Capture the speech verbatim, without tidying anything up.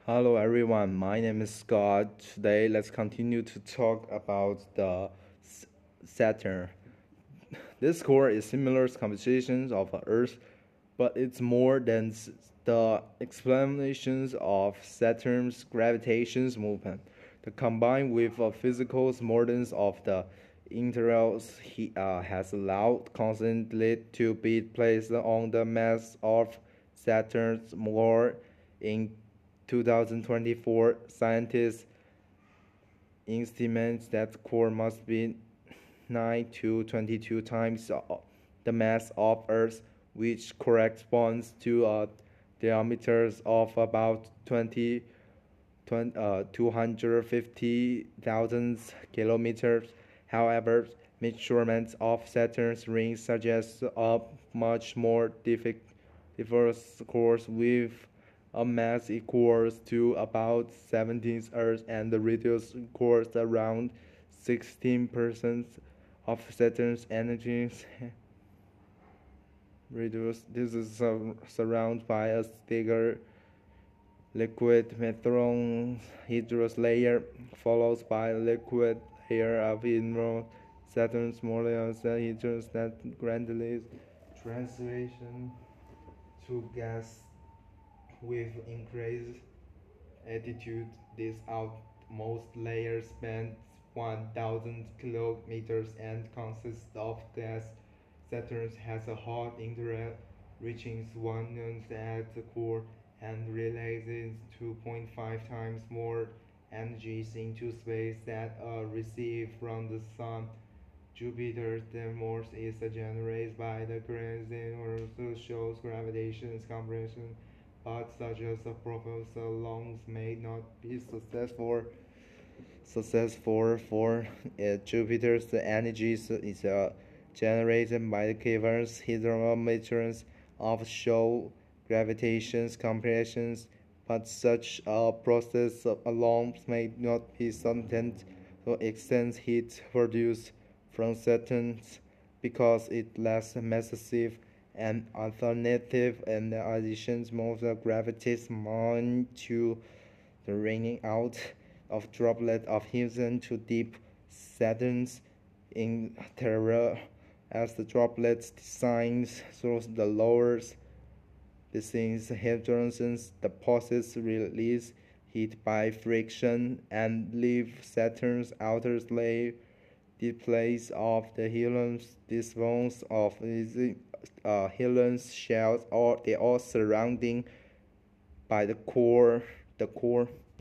Hello everyone, my name is Scott. Today let's continue to talk about the Saturn. This core is similar compositions of Earth, but it's more than the explanations of Saturn's gravitational movement. The combined with the physical models of the intervals he uh, has allowed constantly to be placed on the mass of Saturn's core in two thousand twenty-four. Scientists estimate that core must be nine to twenty-two times the mass of Earth, which corresponds to a diameter of about twenty, twenty uh, two hundred fifty thousand kilometers. However, measurements of Saturn's rings suggest a much more diverse core with a mass equals to about seventeen Earth and the radius equals around sixteen percent of Saturn's energy. Reduce. This is uh, surrounded by a thicker liquid methanol hydrous layer, followed by a liquid layer of hydro. Saturn's molecules hydrous that gradually transition to gas with increased altitude. This outmost layer spans one thousand kilometers and consists of gas. Saturn has a hot interior reaching one at the core and releases two point five times more energy into space than uh, received from the Sun. Jupiter's thermos is generated by the gravity also shows gravitational compression, but such as a proposal alone may not be successful. Successful for uh, Jupiter's energy is uh, generated by the caverns hydrometers of show gravitational compressions, but such a process alone may not be sufficient to extend heat produced from Saturn because it lacks massive and alternative and additions most gravities amount to the raining out of droplets of helium to deep Saturn's interior as the droplets descends through the lower descends hydrogens. The process release heat by friction and leave Saturn's outer layer the place of the helium. These bones of the uh, helium shells, or they are surrounding by the core. The core